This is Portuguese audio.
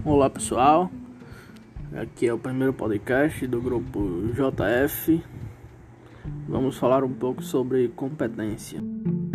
Olá pessoal, aqui é o primeiro podcast do grupo JF. Vamos falar um pouco sobre competência.